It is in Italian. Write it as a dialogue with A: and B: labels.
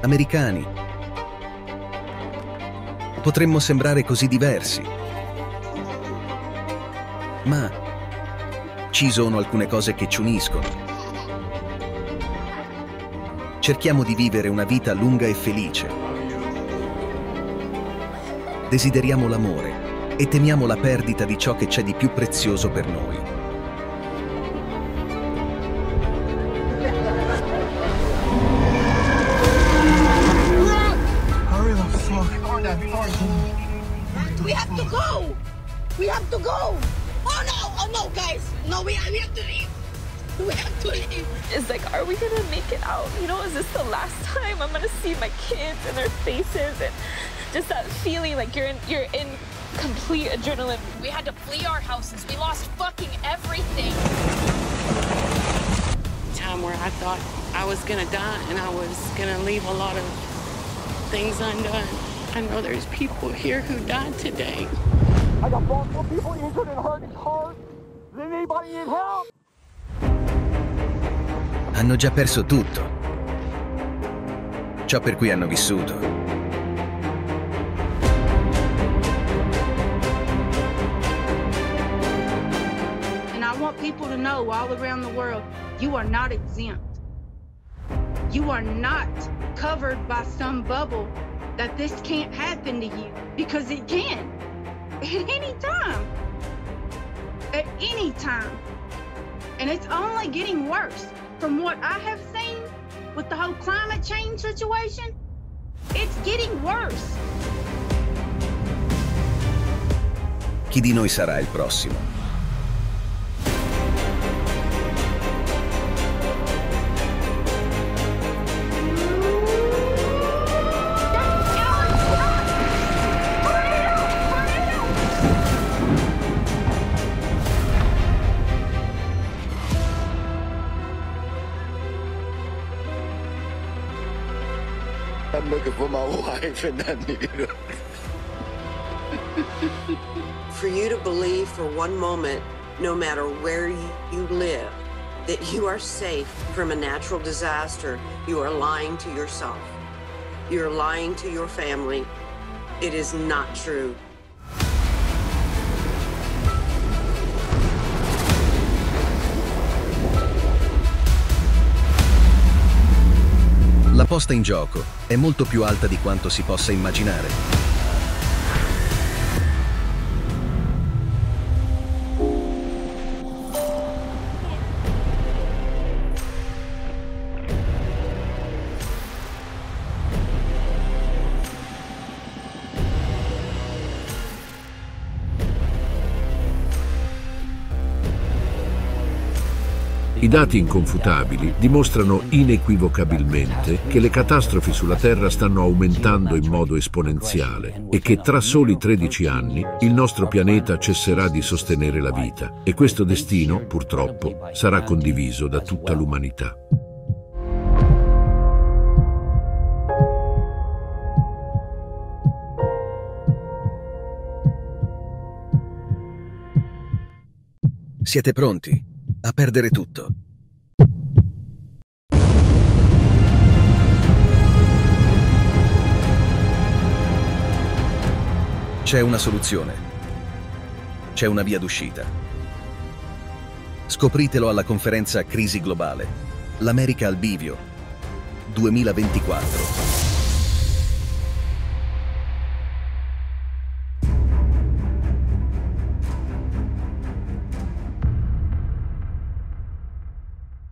A: americani. Potremmo sembrare così diversi, ma ci sono alcune cose che ci uniscono. Cerchiamo di vivere una vita lunga e felice. Desideriamo l'amore e temiamo la perdita di ciò che c'è di più prezioso per noi.
B: We have to go! We have to go! Oh no, guys! No, we have to leave! We have to leave!
C: It's like, are we gonna make it out? You know, is this the last time I'm gonna see my kids and their faces, and just that feeling like you're in complete adrenaline.
B: We had to flee our houses. We lost fucking everything.
D: Time where I thought I was gonna die and I was gonna leave a lot of things undone. I know there's people here who died today.
E: I got multiple people injured and hurt in cars. Does anybody need help?
A: Hanno già perso tutto. Ciò per cui hanno vissuto.
F: And I want people to know all around the world, you are not exempt. You are not covered by some bubble that this can't happen to you, because it can. At any time. At any time. And it's only getting worse. From what I have seen with the whole climate change situation, it's getting worse.
A: Chi di noi sarà il prossimo?
G: I'm looking for my wife and I need her.
H: For you to believe for one moment, no matter where you live, that you are safe from a natural disaster, you are lying to yourself. You're lying to your family. It is not true.
A: La posta in gioco è molto più alta di quanto si possa immaginare.
I: I dati inconfutabili dimostrano inequivocabilmente che le catastrofi sulla Terra stanno aumentando in modo esponenziale e che tra soli 13 anni il nostro pianeta cesserà di sostenere la vita, e questo destino, purtroppo, sarà condiviso da tutta l'umanità.
A: Siete pronti a perdere tutto? C'è una soluzione. C'è una via d'uscita. Scopritelo alla conferenza Crisi Globale. L'America al bivio 2024.